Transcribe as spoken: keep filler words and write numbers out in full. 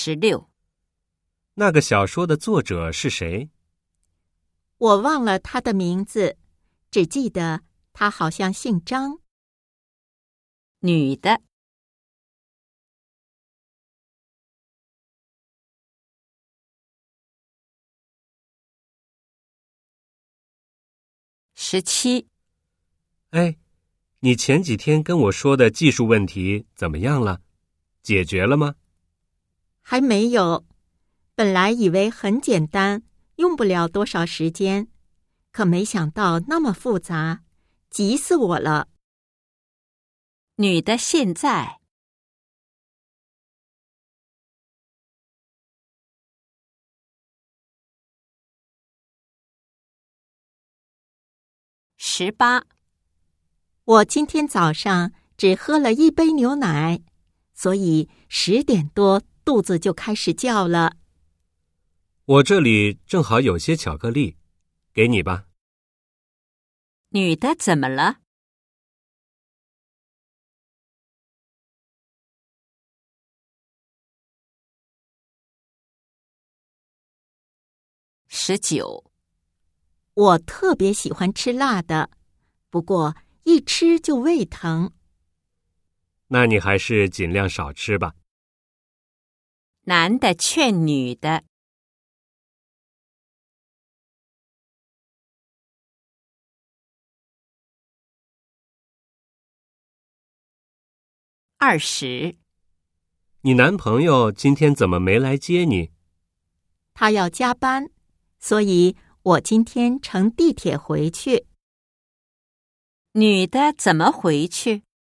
十六。 那个小说的作者是谁？ 我忘了他的名字，只记得他好像姓张。 女的。十七。 哎，你前几天跟我说的技术问题怎么样了？解决了吗？ 还没有，本来以为很简单，用不了多少时间，可没想到那么复杂，急死我了。 女的现在。十八。 我今天早上只喝了一杯牛奶，所以十点多肚子就开始叫了。 我这里正好有些巧克力，给你吧。 女的怎么了？十九。 我特别喜欢吃辣的，不过一吃就胃疼。 那你还是尽量少吃吧。 男的劝女的。二十。 你男朋友今天怎么没来接你？ 他要加班，所以我今天乘地铁回去。 女的怎么回去？